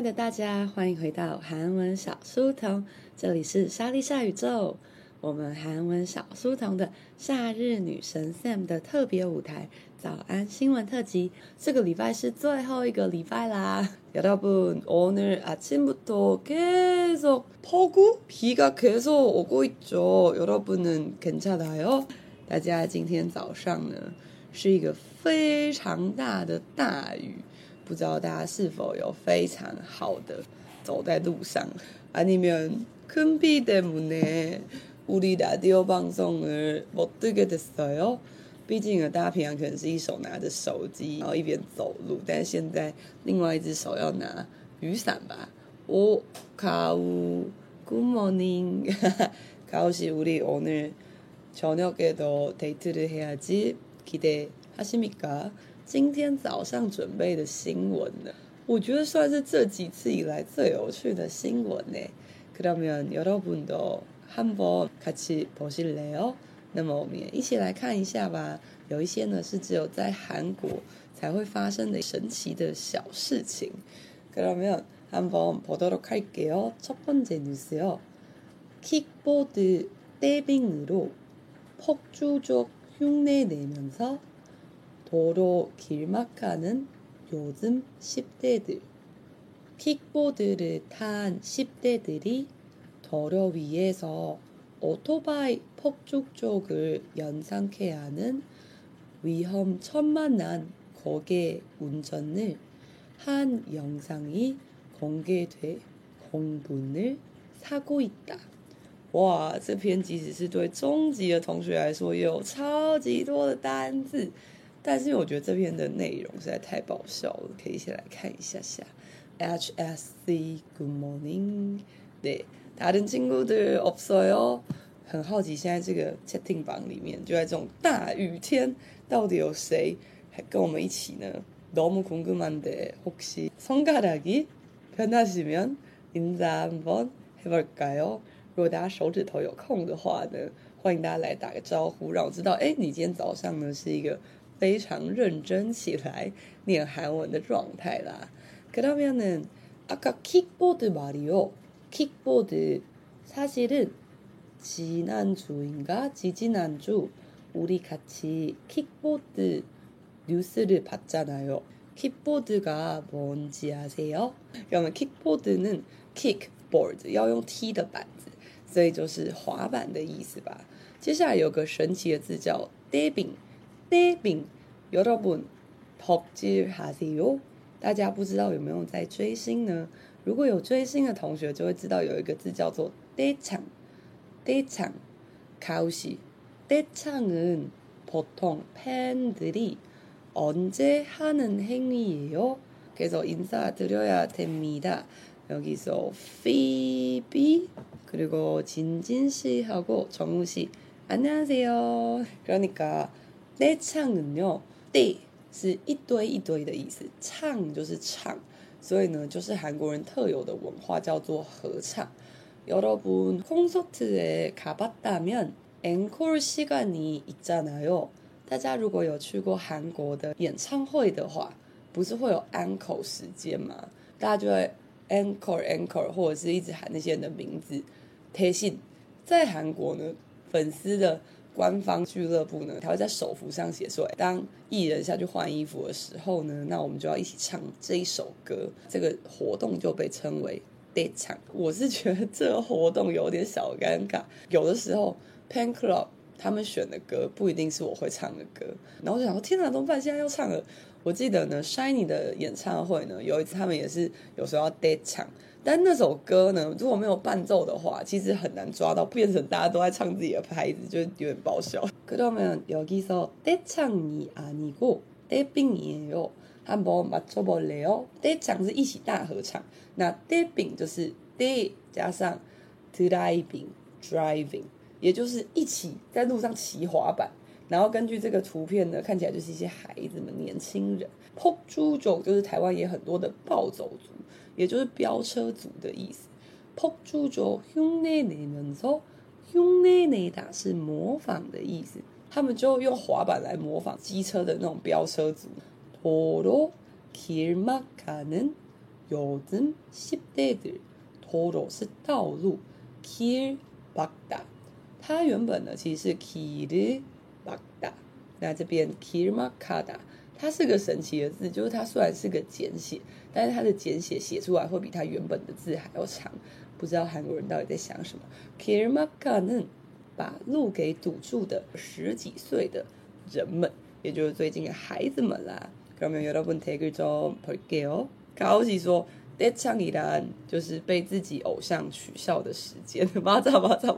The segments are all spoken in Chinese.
的大家，歡迎回到韓文小書童，這裡是莎莉莎宇宙。我們韓文小書童的夏日女神 Sam 的特別舞台早安新聞特輯，這個禮拜是最後一個禮拜啦。여러분 오늘 아침부터 계속 폭우? 비가 계속 오고 있죠. 여러분은 괜찮아요? 大家今天早上呢是一個非常大的大雨，不知道大家是否有非常好的走在路上？아니면 큰 비 때문에 우리 라디오 방송을 못 듣게 됐어요? 畢竟呢，大家平常可能是一手拿着手機，然後一邊走路，但是現在另外一隻手要拿雨傘吧。가우 Good morning. 가우 씨, 우리 오늘 저녁에도 데이트를 해야지. 기대하십니까? 今天早上準備的新聞呢，我覺得算是這幾次以來最有趣的新聞呢。그러면 여러분도 한번 같이 보실래요? 那麼我們也一起來看一下吧。有一些呢是只有在韓國才會發生的神奇的小事情。그러면 한번 보도록 할게요. 첫 번째 뉴스요. 킥보드 떼빙으로 폭주족 흉내 내면서 도로 길막하는 요즘 10대들. 킥보드를 탄 10대들이 도로 위에서 오토바이 폭죽족을 연상케 하는 위험천만한 거계 운전을 한 영상이 공개돼 공분을 사고 있다. 哇，这篇即使是對中級的同學來說，也有超級多的單字，但是我覺得這篇的內容實在太爆笑了，可以一起來看一下下。HSC Good morning. 네, 다른 친구들 없어요? 很好奇現在這個 채팅 방裡面，就在這種大雨天，到底有誰還跟我們一起呢？너무 궁금한데 혹시 손가락이 편하시면 인사 한번 해볼까요? 如果大家手指頭有空的話呢，歡迎大家來打個招呼，讓我知道，哎，你今天早上呢是一個非常認真起來念韓文的狀態啦。그러면은 아까 킥보드 말이요. 킥보드 사실은 지난주인가 지지난주 우리 같이 킥보드 뉴스를 봤잖아요. 킥보드가 뭔지 아세요? 그러면 킥보드는 kickboard 要用踢的板子，所以就是滑板的意思吧。接下來有個神奇的字叫 떼빙. 떼빙 여러분 덕질하세요? 大家不知道有沒有在追星呢？如果有追星的同學就會知道有一個字叫做떼창. 떼창. 가우씨. 떼창은 보통 팬들이 언제 하는 행위예요? 그래서 인사드려야 됩니다. 여기서 피비 그리고 진진씨하고 정우씨 안녕하세요. 그러니까 떼창은요, 떼是一堆一堆的意思，唱就是唱，所以呢，就是韓國人特有的文化叫做合唱。여러분 콘서트에 가봤다면 앵콜 시간이 있잖아요. 大家如果有去過韓國的演唱會的話，不是會有 encore 時間嗎？大家就會 encore 或者是一直喊那些人的名字。대신在韓國呢，粉絲的官方俱樂部呢，他會在手幅上寫說，當藝人下去換衣服的時候呢，那我們就要一起唱這一首歌。這個活動就被稱為떼창。我是覺得這個活動有點小尷尬，有的時候 Pen Club 他們選的歌不一定是我會唱的歌，然後我就想說，天哪，怎麼辦？現在要唱了。我記得呢 ，Shiny 的演唱會呢，有一次他們也是有時候要떼창。但那首歌呢，如果沒有伴奏的話，其實很難抓到，變成大家都在唱自己的拍子，就有點爆笑。그러면 여기서 떼창이 아니고 떼빙이에요. 한번 맞춰볼래요? 떼창是一起大合唱，那떼빙就是떼加上 driving， 也就是一起在路上騎滑板。然後根據這個圖片呢，看起來就是一些孩子們、年輕人。폭주족就是台灣也很多的暴走族，也就是飆車族的意思。폭주족 흉내 내면서 흉내 내다是模仿的意思，他们就用滑板來模仿機車的那種飆車族。도로 길막하는 요즘 10대들 도로是道路 길 막다 它原本呢其實是 길 막다 那這邊 길 막하다 它是個神奇的字，就是它雖然是個簡寫，但是它的簡寫寫出來會比它原本的字還要長，不知道韓國人到底在想什麼。길 막하는把路給堵住的十幾歲的人們，也就是最近的孩子們啦。그러면 여러분 댓글 좀 볼게요. 가오시說떼창이란就是被自己偶像取笑的時間。맞아.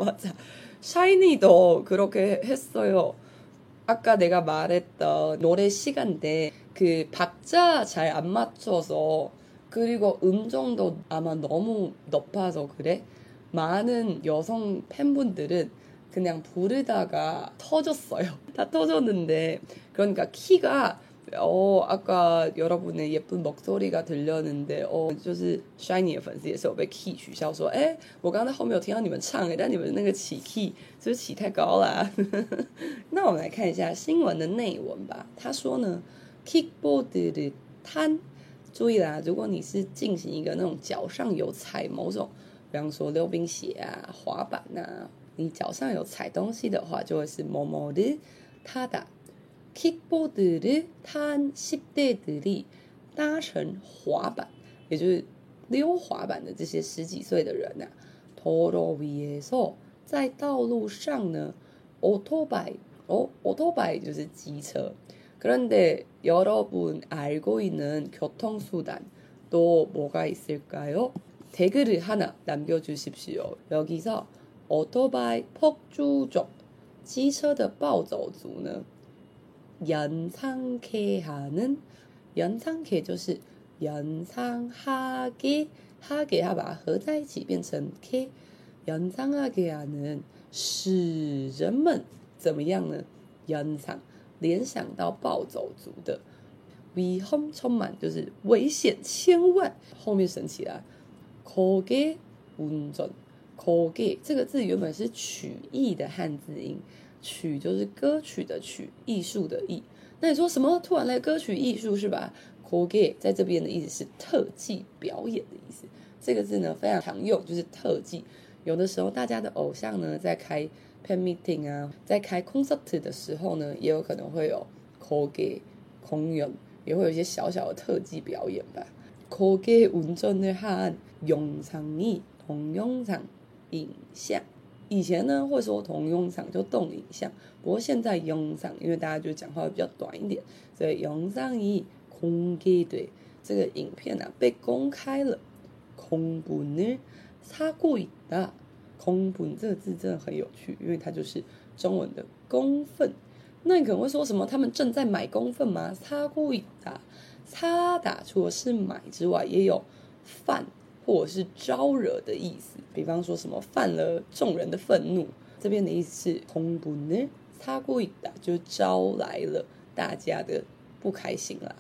샤이니도 그렇게 했어요. 아까 내가 말했던 노래 시간대 그 박자 잘 안 맞춰서 그리고 음정도 아마 너무 높아서 그래. 많은 여성 팬분들은 그냥 부르다가 터졌어요. 다 터졌는데 그러니까 키가 아까 여러분의 예쁜 목소리가 들렸는데 就是 Shiny 的粉絲也是有被 key 取笑說我剛才後面有聽到你們唱但你們那個起 key 是不是起太高啦那我們來看一下新聞的內文吧。他說呢 킥보드를 탄注意啦，如果你是進行一個那種腳上有踩某種比方說溜冰鞋啊滑板啊你腳上有踩東西的話就會是뭐뭐를 타다 킥보드를 탄 10대들이搭乘滑板也就是溜滑板的這些十幾歲的人啊도로 위에서在道路上呢오토바이 오토바이就是機車그런데 여러분 알고 있는 교통수단 또 뭐가 있을까요? 댓글을 하나 남겨주십시오. 여기서 오토바이 폭주족 機車的暴走族呢연상케 하는 연상케就是 연상하게 하게它把它合在一起变成 K 연상하게 하는使人們怎麼樣呢연상聯想到暴走族的위험 천만就是危險千萬後面省起來고개 운전 고개這個字原本是曲藝的漢字音曲就是歌曲的曲藝術的藝那你說什麼突然來歌曲藝術是吧고개在這邊的意思是特技表演的意思這個字呢非常常用就是特技有的時候大家的偶像呢在開팬 미팅啊在開 concert 的時候呢也有可能會有고개 공연也會有一些小小的特技表演吧고개 운전을 한 영상이 동영상影像以前呢會說동영상就動影像不過現在영상因為大家就講話會比較短一點所以영상이 공개돼這個影片啊被公開了공분을 사고 있다 공분這個字真的很有趣因為它就是中文的公憤那你可能會說什麼他們正在買公憤嗎사고 있다 사다除了是買之外也有犯或者是招惹的意思比方說什麼犯了眾人的憤怒這邊的意思是공분을 사고 있다就招來了大家的不開心啦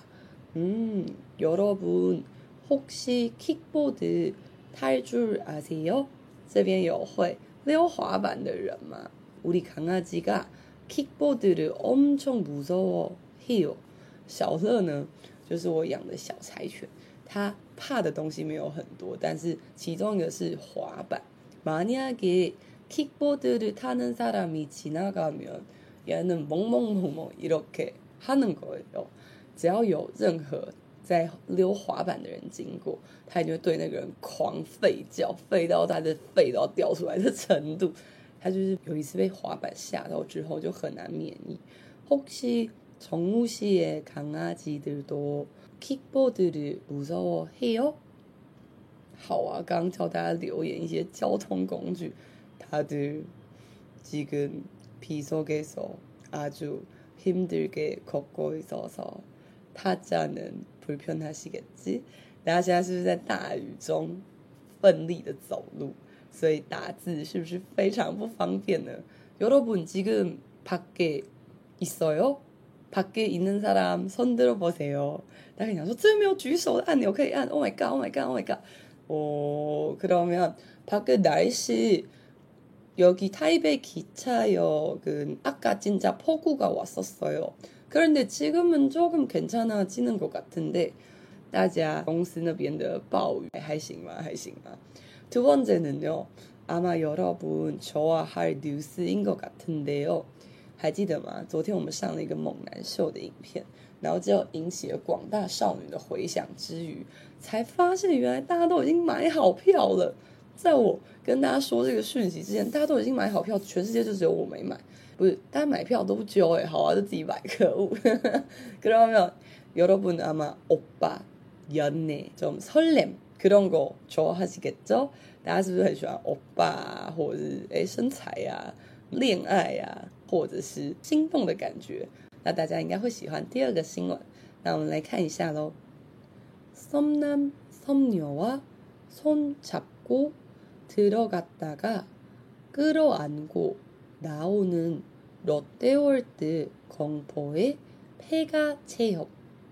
여러분 혹시 킥보드 탈 줄 아세요? 這邊有會溜滑板的人嗎우리 강아지가 킥보드를 엄청 무서워해요. 小樂呢就是我養的小柴犬它怕的東西沒有很多但是其中一個是滑板만약에 킥보드를 타는 사람이 지나가면 얘는 멍멍멍멍 이렇게 하는 거예요. 只要有任何在溜滑板的人經過他一定會對那個人狂吠叫吠到他的肺都要掉出來的程度他就是有一次被滑板嚇到之後就很難免疫혹시 정우 씨의 강아지들도 킥보드를 무서워해요? 好啊剛剛教大家留言一些交通工具다들 지금 비 속에서 아주 힘들게 걷고 있어서 타자는 불편하시겠지? 大家現在是不是在大雨中奮力的走路所以打字是不是非常不方便呢 여러분 지금 밖에 있어요? 밖에 있는 사람 손 들어보세요. 大家想說这沒有舉手的按鈕可以按 Oh my god, oh my god, oh my god. 그러면 밖에 날씨 여기 타이베이 기차역은 아까 진짜 폭우가 왔었어요. 그런데 지금은 조금 괜찮아지는 것 같은데 大家公司那邊的暴雨還行嗎？還行嗎？두 번째는요, 아마 여러분 좋아할 뉴스인 것 같은데요. 還記得嗎？昨天我們上了一個猛男秀的影片，然後就引起了廣大少女的回響之餘，才發現原來大家都已經買好票了。在我跟大家說這個訊息之前，大家都已經買好票，全世界就只有我沒買。不是，大家買票都不揪好啊，就自己買，可惡。그러면 여러분 아마 오빠, 연애, 좀 설렘 그런 거 좋아하시겠죠? 大家是不是很喜歡歐巴啊，或者是身材啊、戀愛啊，或者是興奮的感覺？那大家應該會喜歡第二個新聞。那我們來看一下嘍。썸남 썸녀와 손 잡고 들어갔다가 끌어안고 나오는 롯데월드 공포의 폐가 체험.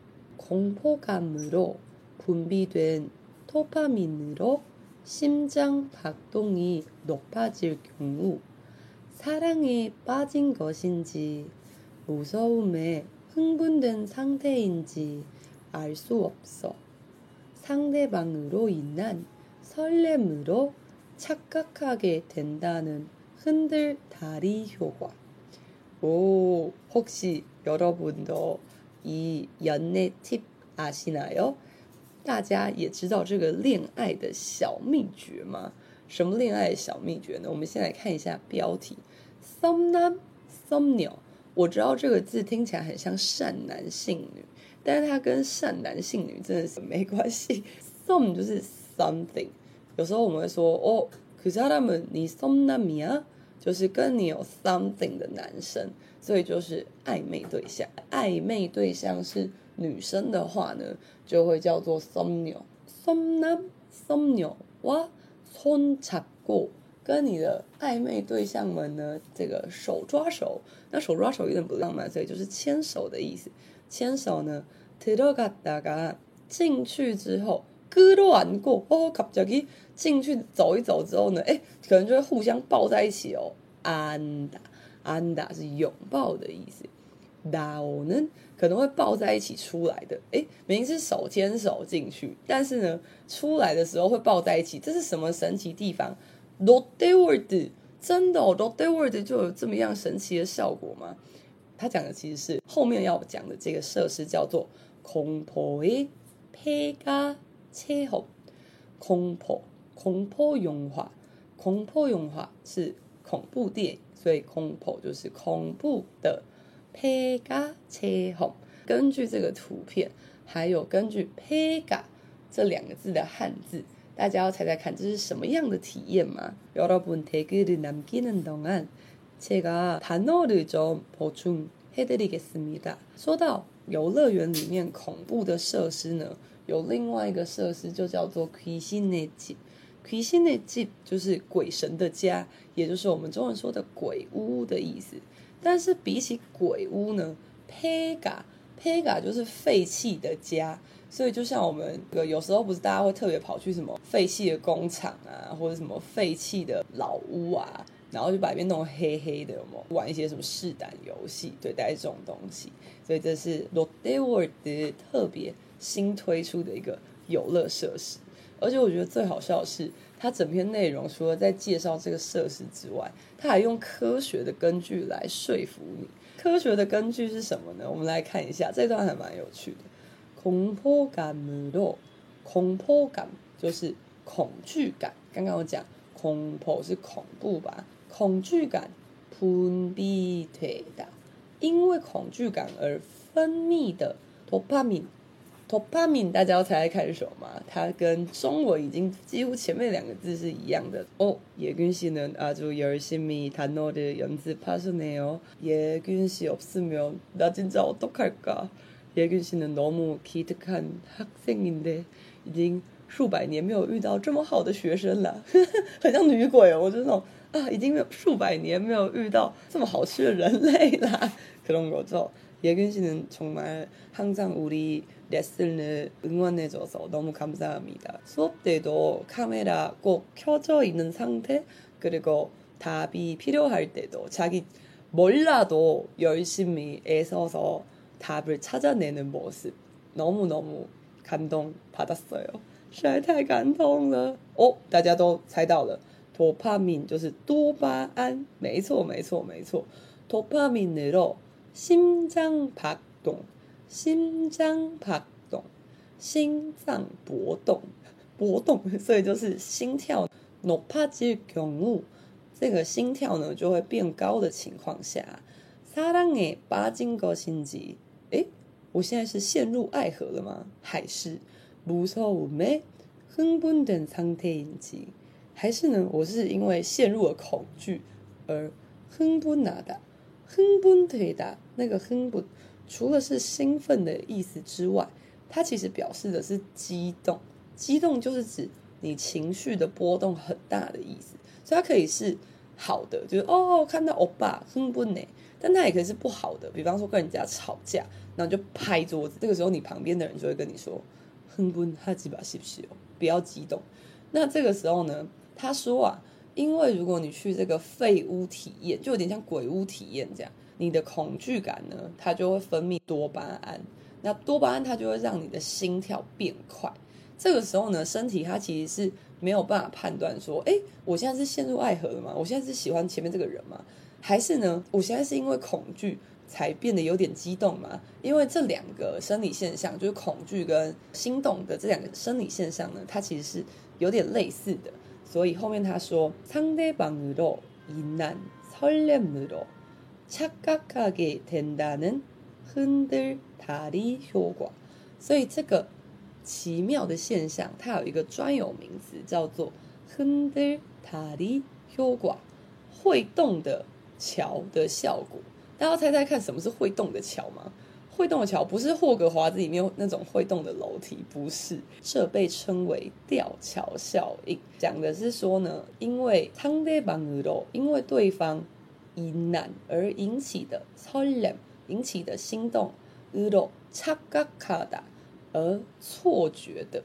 공포감으로 분비된 도파민으로 심장 박동이 높아질 경우 사랑에 빠진 것인지 무서움에 흥분된 상태인지 알 수 없어. 상대방으로 인한 설렘으로 착각하게 된다는 흔들다리 효과. 오, 혹시 여러분도 이 연애 팁 아시나요? 大家也知道這個戀愛的小祕訣嗎？什麼戀愛的小祕訣呢？我們先來看一下標題。썸남 썸녀，我知道這個字聽起來很像善男信女，但是它跟善男信女真的是沒關係。썸就是 something， 有時候我們會說哦，그 사람은 네 썸남이야，就是跟你有 something 的男生，所以就是曖昧對象。曖昧對象是女生的話呢，就會叫做 썸녀。썸남 썸녀와 손 잡고，跟你的曖昧對象們呢，這個手抓手。那手抓手有點不浪漫，所以就是牽手的意思。牽手呢，들어갔다가進去之後，끌어안고 갑자기進去走一走之後呢，可能就會互相抱在一起哦。안다是擁抱的意思。나오는可能會抱在一起出來的，明明是手牽手進去，但是呢，出來的時候會抱在一起，這是什麼神奇地方？ 롯데월드 真的롯데월드就有這麼樣神奇的效果嗎？他講的其實是後面要講的這個設施叫做공포의 폐가 체험。공포 영화， 공포 영화是恐怖電影，所以공포就是恐怖的。폐가 체험， 根據這個圖片，還有根據폐가這兩個字的漢字，大家要猜猜看這是什麼樣的體驗嗎？여러분 댓글을 남기는 동안 제가 단어를 좀 보충해드리겠습니다。 說到遊樂園裡面恐怖的設施呢，有另外一個設施就叫做귀신의 집。 귀신의 집就是鬼神的家，也就是我們中文說的鬼屋的意思。但是比起鬼屋呢，폐가就是廢棄的家，所以就像我們有時候不是大家會特別跑去什麼廢棄的工廠啊，或者什麼廢棄的老屋啊，然後就把裡面弄黑黑的，有沒有玩一些什麼試膽遊戲，對，大概這種東西。所以這是 롯데월드 特別新推出的一個遊樂設施。而且我覺得最好笑的是，它整篇內容除了在介紹這個設施之外，它還用科學的根據來說服你。科學的根據是什麼呢？我們來看一下，這段還蠻有趣的。공포감으로， 공포감就是恐懼感。剛剛我講공포是恐怖吧？恐懼感분비되다，因為恐懼感而分泌的도파민，大家要猜猜看是什麼嗎？它跟中文已經幾乎前面兩個字是一樣的哦。예균 씨는 아주 열심히 단어를 연습하시네요. 예균 씨 없으면 나 진짜 어떡할까? 예균 씨는 너무 기특한 학생인데已經數百年沒有遇到這麼好的學生了，很像女鬼哦。我就那種已經沒有數百年沒有遇到這麼好吃的人類啦。그런 거죠. 예균 씨는 정말 항상 우리 레슨을 응원해줘서 너무 감사합니다. 수업 때도 카메라 꼭 켜져 있는 상태, 그리고 답이 필요할 때도 자기 몰라도 열심히 애써서 답을 찾아내는 모습 너무너무 감동받았어요. 實在太感動了哦！大家都猜到了，多巴胺就是多巴胺，沒錯沒錯沒錯。도파민으로 심장박동，心臟搏動，所以就是心跳높아질 경우，這個心跳呢就會變高的情況下，사랑에 빠진 것인지，我現在是陷入愛河了嗎？還是무서움에 흥분된 상태인지，還是呢我是因為陷入了恐懼而흥분되다，那個흥분除了是興奮的意思之外，它其實表示的是激動，激動就是指你情緒的波動很大的意思，所以它可以是好的，就是看到歐巴흥분呢，但它也可以是不好的，比方說跟人家吵架，然後就拍桌子，這個時候你旁邊的人就會跟你說흥분하지마십시오，不要激動。那這個時候呢，他說啊，因為如果你去這個廢屋體驗，就有點像鬼屋體驗這樣，你的恐懼感呢，它就會分泌多巴胺，那多巴胺它就會讓你的心跳變快。這個時候呢，身體它其實是沒有辦法判斷說，我現在是陷入愛河了嗎？我現在是喜歡前面這個人嗎？還是呢，我現在是因為恐懼才變得有點激動嗎？因為這兩個生理現象，就是恐懼跟心動的這兩個生理現象呢，它其實是有點類似的。所以後面他說상대방으로 인한 설렘으로 착각하게 된다는 흔들다리 효과。所以這個奇妙的現象，它有一個專有名詞叫做흔들다리 효과，會動的橋的效果。大家要猜猜看，什麼是會動的橋嗎？會動的橋不是霍格華茲裡面那種會動的樓梯，不是，這被稱為吊橋效應。講的是說呢，因為상대방으로，因為對方인한而引起的설렘，引起的心動으로 착각하다而錯覺的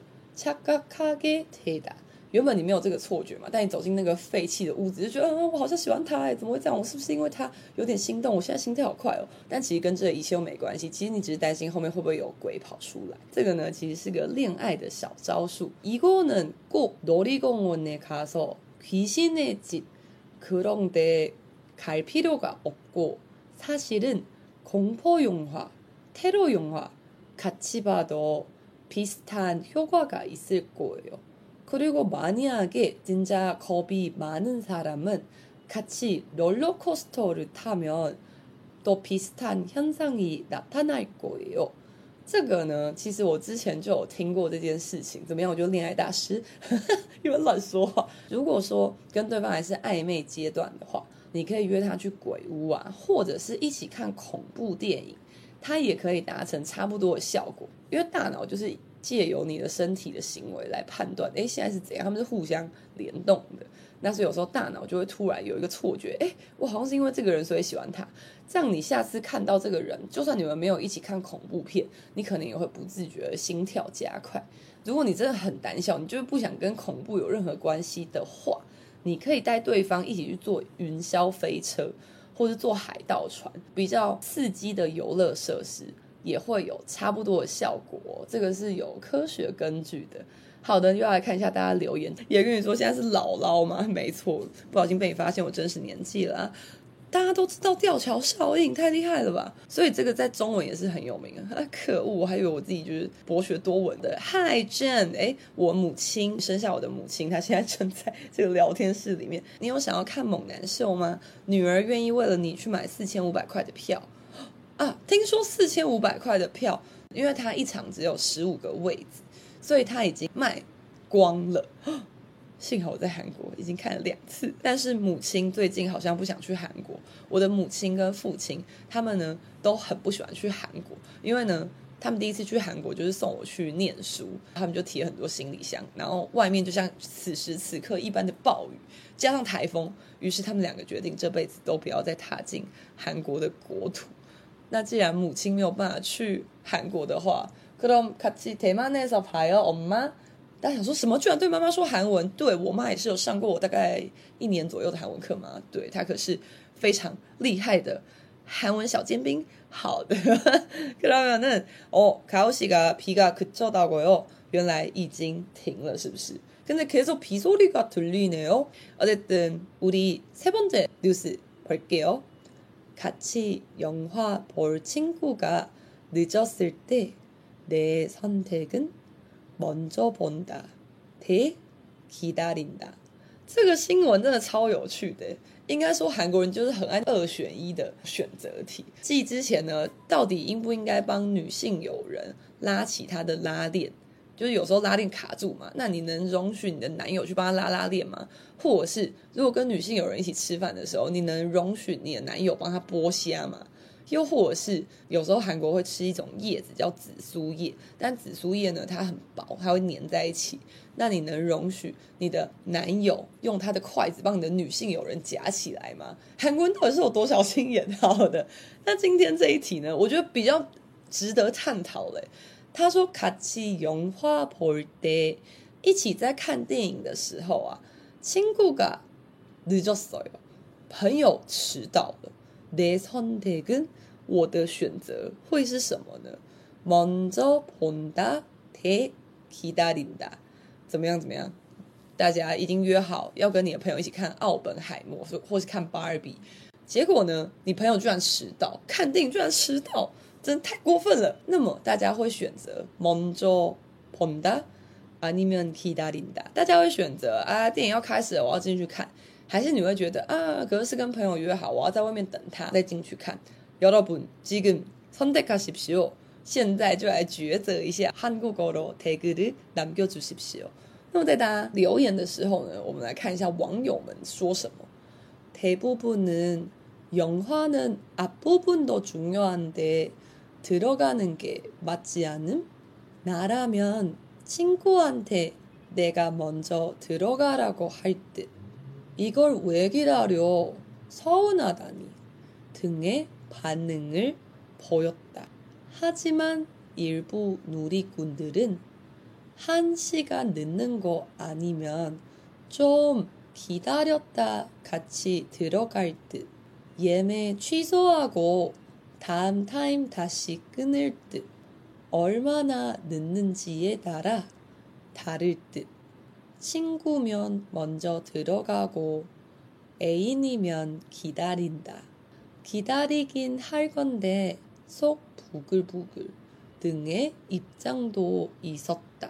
착각하게 되다。原本你沒有這個錯覺嘛，但你走進那個廢棄的屋子，就覺得我好像喜歡他怎麼會這樣？我是不是因為他有點心動？我現在心跳好快哦。但其實跟這一切都沒關係，其實你只是擔心後面會不會有鬼跑出來。這個呢，其實是個戀愛的小招數。이거는 꼭 놀이공원에 가서 귀신의 집 그런 데 갈 필요가 없고 사실은 공포 영화, 테러 영화 같이 봐도 비슷한 효과가 있을 거예요. 그리고 만약에 진짜 겁이 많은 사람은 같이 롤러코스터를 타면 또 비슷한 현상이 나타날 거예요. 這個呢，其實我之前就有聽過這件事情。怎麼樣？我就戀愛大師，因為亂說話。如果說跟對方還是曖昧階段的話，你可以約他去鬼屋啊，或者是一起看恐怖電影，它也可以達成差不多的效果。因為大腦就是借由你的身體的行為來判斷，現在是怎樣，他們是互相聯動的。那所以有時候大腦就會突然有一個錯覺，我好像是因為這個人所以喜歡他。這樣你下次看到這個人，就算你們沒有一起看恐怖片，你可能也會不自覺的心跳加快。如果你真的很膽小，你就是不想跟恐怖有任何關係的話，你可以帶對方一起去坐雲霄飛車，或是坐海盜船，比較刺激的遊樂設施。也會有差不多的效果，這個是有科學根據的。好的，又要來看一下大家留言，也跟你說現在是姥姥嗎？沒錯，不小心被你發現我真實年紀了啊。大家都知道吊橋效應，太厲害了吧？所以這個在中文也是很有名啊。可惡，我還以為我自己就是博學多聞的。Hi Jen， 我母親生下我的母親，她現在正在這個聊天室裡面。你有想要看猛男秀嗎？女兒願意為了你去買4500塊的票。啊，聽說4500塊的票，因為它一場只有15個位置，所以它已經賣光了。幸好我在韓國已經看了2次，但是母親最近好像不想去韓國。我的母親跟父親他們呢都很不喜歡去韓國，因為呢他們第一次去韓國就是送我去念書，他們就提了很多行李箱，然後外面就像此時此刻一般的暴雨加上颱風，於是他們2個決定這輩子都不要再踏進韓國的國土。那既然母親沒有辦法去韓國的話，그럼 같이 대만에서 봐요, 엄마? 大家想說什麼？居然對媽媽說韓文？對，我媽也是有上過我大概1年左右的韓文課嘛。對，她可是非常厲害的 한원小尖兵. 好的. 그러면은 가오씨가 비가 그쳤다고요. 原来已经停了是不是? 근데 계속 비 소리가 들리네요. 어쨌든 우리 세 번째 뉴스 볼게요. 같이 영화 볼 친구가 늦었을 때 내 선택은 먼저 본다 대 기다린다. 这个新聞真的超有趣的，应该說韓國人就是很愛2選1的選擇題。繼之前呢，到底應不應該幫女性友人拉起她的拉鏈？就是有時候拉鏈卡住嘛，那你能容許你的男友去幫他拉鏈嗎？或者是如果跟女性友人一起吃飯的時候，你能容許你的男友幫他剝蝦嗎？又或者是有時候韓國會吃一種葉子叫紫蘇葉，但紫蘇葉呢它很薄，它會粘在一起，那你能容許你的男友用他的筷子幫你的女性友人夾起來嗎？韓國人到底是有多小心眼？好的，那今天這一題呢，我覺得比較值得探討嘞。他說같이 영화 볼 때， 一起在看電影的時候啊，친구가 늦었어요， 朋友遲到了。내 선택은， 我的選擇會是什麼呢？먼저 본다 대 기다린다。 怎麼樣？大家已經約好要跟你的朋友一起看奧本海默，或是看芭比，結果呢，你朋友居然遲到，看電影居然遲到，真的太過分了。那麼大家會選擇먼저 본다 아니면 기다린다。 大家會選擇電影要開始了，我要進去看。還是你會覺得可是跟朋友約好，我要在外面等他再進去看。여러분 지금 선택하십시오。 現在就來抉擇一下。한국어로 댓글을 남겨주십시오。 那麼在大家留言的時候呢，我們來看一下網友們說什麼。대부분은 영화는 앞부분도 중요한데 들어가는 게 맞지 않음? 나라면 친구한테 내가 먼저 들어가라고 할 듯. 이걸 왜 기다려? 서운하다니 등의 반응을 보였다. 하지만 일부 누리꾼들은 1시간 늦는 거 아니면 좀 기다렸다 같이 들어갈 듯. 예매 취소하고 다음 타임 다시 끊을 듯. 얼마나 늦는지에 따라 다를 듯. 친구면 먼저 들어가고 애인이면 기다린다. 기다리긴 할 건데 속 부글부글 등의 입장도 있었다.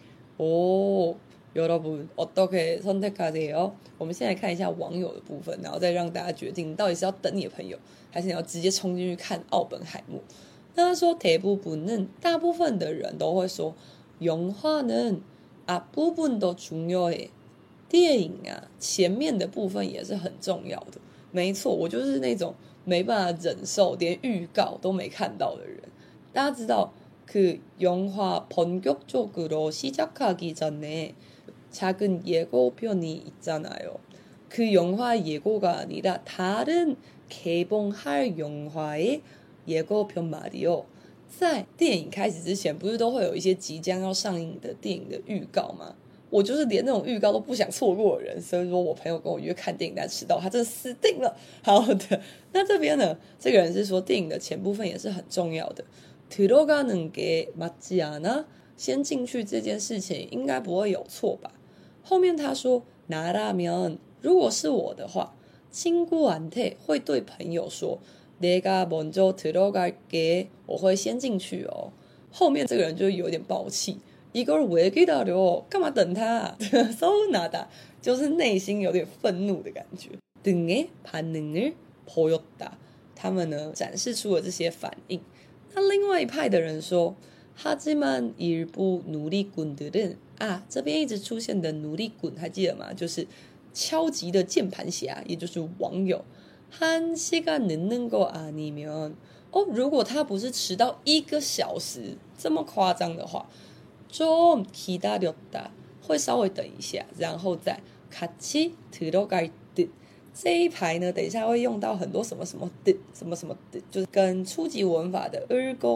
오, 여러분 어떻게 선택하세요? 我们先来看一下网友的部分，然后再让大家決定到底是要等你的朋友，還是你要直接衝進去看奧本海默。那他說대부분은大部分的人都會說영화는 앞부분도 중요해。 電影啊，前面的部分也是很重要的。沒錯，我就是那種沒辦法忍受連預告都沒看到的人。大家知道그 영화 본격적으로 시작하기 전에 작은 예고편이 있잖아요. 그 영화 예고가 아니라 다른 개봉할 영화의 예고편 말이요. 在電影開始之前，不是都會有一些即將要上映的電影的預告嗎？我就是連那種預告都不想錯過的人，所以說我朋友跟我約看電影，但遲到，他真的死定了。好的，那這邊呢，這個人是說電影的前部分也是很重要的。들어가는 게 맞지 않아？ 先進去這件事情應該不會有錯吧？後面他說나라면， 如果是我的話，친구한테會對朋友說내가 먼저 들어갈게， 我會先進去哦。後面這個人就有點爆氣，이걸 왜 기다려？ 幹嘛等他？서운하다，就是內心有點憤怒的感覺。등의 반응을 보였다， 他們呢展示出了這些反應。那另外一派的人說하지만 일부 누리꾼들은， 這邊一直出現的누리꾼還記得嗎？就是敲擊的鍵盤俠，也就是網友。1시간 늦는 거 아니면， 如果他不是遲到1個小時這麼誇張的話，좀 기다렸다， 會稍微等一下，然後再같이 들어갈 듯。這一排呢，等一下會用到很多什麼什麼的，什麼什麼的，就是跟初級文法的을것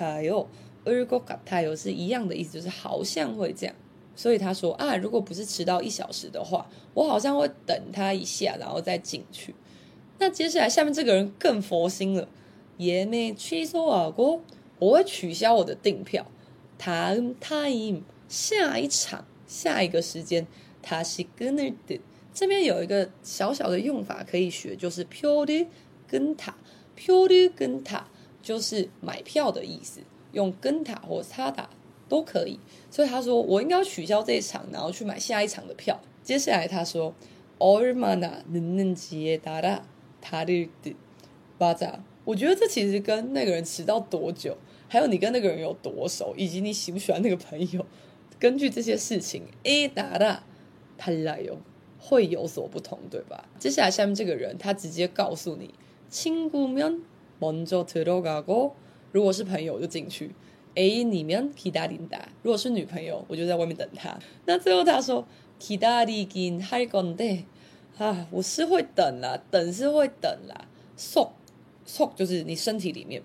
같아요是一樣的意思，就是好像會這樣。所以他說如果不是遲到1小時的話，我好像會等他一下，然後再進去。 那接下来下面這個人更佛心了，예매 취소하고我會取消我的訂票。다음 타임下一場下一個時間다시 끊을 듯這邊有一個小小的用法可以學，就是표를 끊다，표를 끊다就是買票的意思，用끊다或사다都可以。所以他說我應該要取消這一場，然後去買下一場的票。接下來他說얼마나 늦는지에 따라 다를 듯 맞아，我覺得這其實跟那個人遲到多久，還有你跟那個人有多熟，以及你喜不喜歡那個朋友，根據這些事情따라 달라요會有所不同，對吧？接下來下面這個人他直接告訴你친구면 먼저 들어가고如果是朋友就進去，애인이면 기다린다如果是女朋友我就在外面等他。那最後他說기다리긴 할 건데我是會等啦，等是會等啦。속就是你身體裡面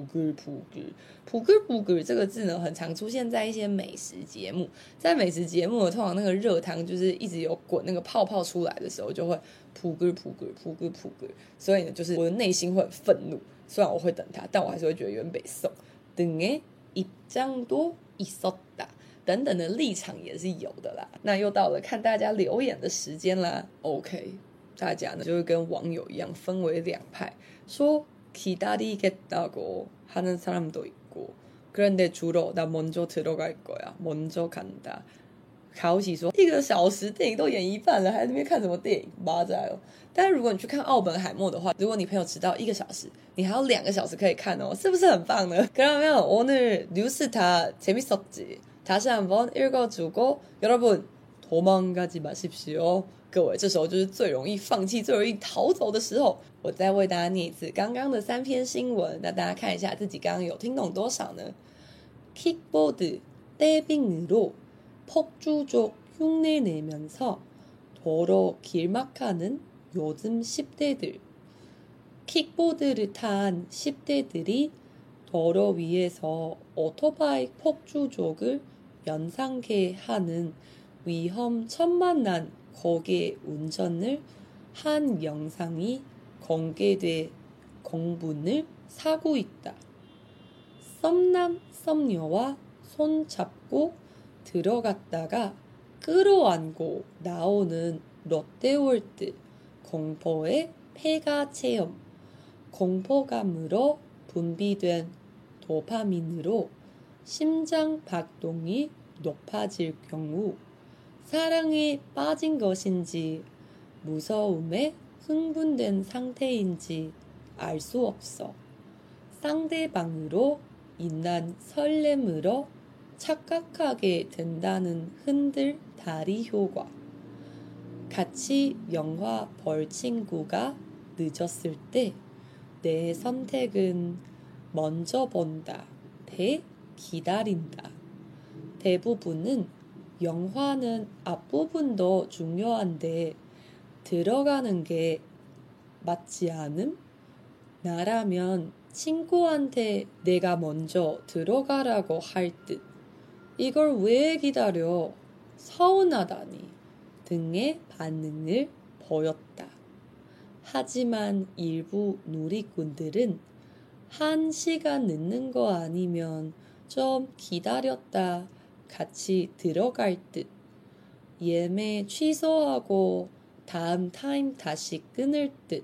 ，pugur 這個字呢，很常出現在一些美食節目。在美食節目，通常那個熱湯就是一直有滾那個泡泡出來的時候，就會pugur。所以呢，就是我的內心會很憤怒。雖然我會等他，但我還是會覺得有點北宋。등의 입장도 있었다等等的立場也是有的啦。那又到了看大家留言的時間啦。OK， 大家呢就會跟網友一樣分為兩派，說기다리겠다고 하는 사람도 있고 그런데 주로 나 먼저 들어갈 거야. 먼저 간다. 가오시說1個小時電影都演一半了，還在那邊看什麼電影？맞아요。但是如果你去看奧本海默的話，如果你朋友遲到1個小時，你還有2個小時可以看哦，是不是很棒呢？그러면 오늘 뉴스 다 재밌었지? 다시 한번 읽어주고 여러분 도망가지 마십시오。各位，這時候就是最容易放棄、最容易逃走的時候。我再為大家念一次剛剛的3篇新聞，那大家看一下自己剛剛有聽懂多少呢？ 킥보드 떼빙으로 폭주족 흉내내면서 도로 길막하는 요즘 10대들. 킥보드를 탄 10대들이 도로 위에서 오토바이 폭주족을 연상케 하는 위험천만한 거기에 운전을 한 영상이 공개돼 공분을 사고 있다. 썸남 썸녀와 손 잡고 들어갔다가 끌어안고 나오는 롯데월드 공포의 폐가 체험. 공포감으로 분비된 도파민으로 심장 박동이 높아질 경우 사랑에 빠진 것인지 무서움에 흥분된 상태인지 알 수 없어. 상대방으로 인한 설렘으로 착각하게 된다는 흔들 다리 효과. 같이 영화 볼 친구가 늦었을 때 내 선택은 먼저 본다 대 기다린다. 대부분은 영화는 앞부분도 중요한데 들어가는 게 맞지 않음? 나라면 친구한테 내가 먼저 들어가라고 할 듯. 이걸 왜 기다려? 서운하다니 등의 반응을 보였다. 하지만 일부 누리꾼들은 1시간 늦는 거 아니면 좀 기다렸다 같이 들어갈 듯. 예매 취소하고 다음 타임 다시 끊을 듯.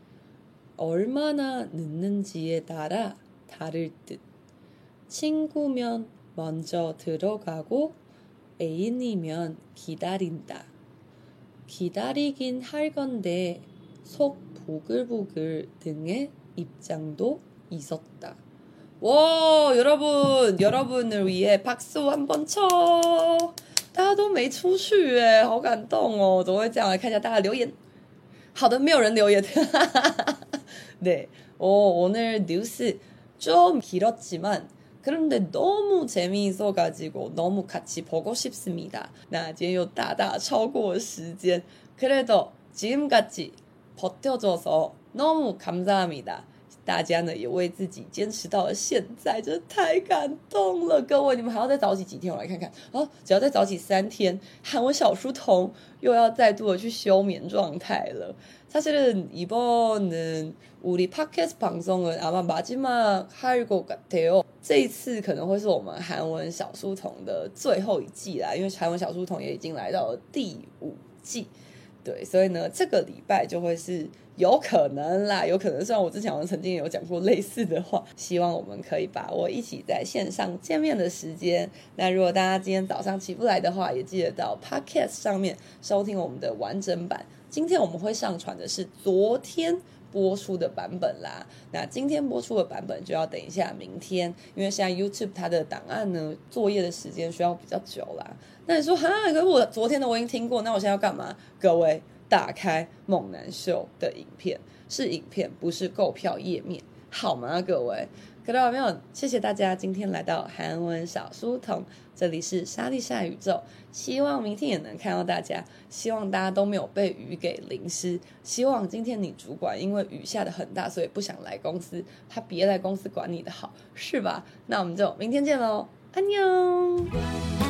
얼마나 늦는지에 따라 다를 듯. 친구면 먼저 들어가고 애인이면 기다린다. 기다리긴 할 건데 속 부글부글 등의 입장도 있었다. 와, 여러분을 위해 박수 한번 쳐. 大家都沒出去耶，好感動哦！怎麼會這樣？來看一下大家留言。好的，沒有人留言。네, 오늘 뉴스 좀 길었지만 그런데 너무 재미있어가지고 너무 같이 보고 싶습니다. 那今天又大大超過時間， 그래도 지금까지 버텨줘서 너무 감사합니다. 大家呢也為自己堅持到了現在，真的太感動了。各位，你們還要再早起幾天？我來看看哦，只要再早起3天，韓文小書童又要再度的去休眠狀態了。사실은이번은 우리 팟캐스트 방송은 아마 마지막 할 것 같아요. 這一次可能會是我們韓文小書童的最後一季啦，因為韓文小書童也已經來到了第5季。對，所以呢，這個禮拜就會是有可能啦，有可能。雖然我之前好像曾經有講過類似的話，希望我們可以把握一起在線上見面的時間。那如果大家今天早上起不來的話，也記得到 Podcast 上面收聽我們的完整版。今天我們會上傳的是昨天播出的版本啦，那今天播出的版本就要等一下明天，因為現在 YouTube 它的檔案呢，作業的時間需要比較久啦。那你說哈，可是我昨天的我已經聽過，那我現在要幹嘛？各位打開猛男秀的影片，是影片，不是購票頁面，好嗎？各位，看到沒有？謝謝大家今天來到韓文小書童，這裡是莎莉莎宇宙，希望明天也能看到大家，希望大家都沒有被雨給淋濕，希望今天你主管因為雨下得很大，所以不想來公司，他別來公司管你的好，是吧？那我們就明天見嘍，安妞。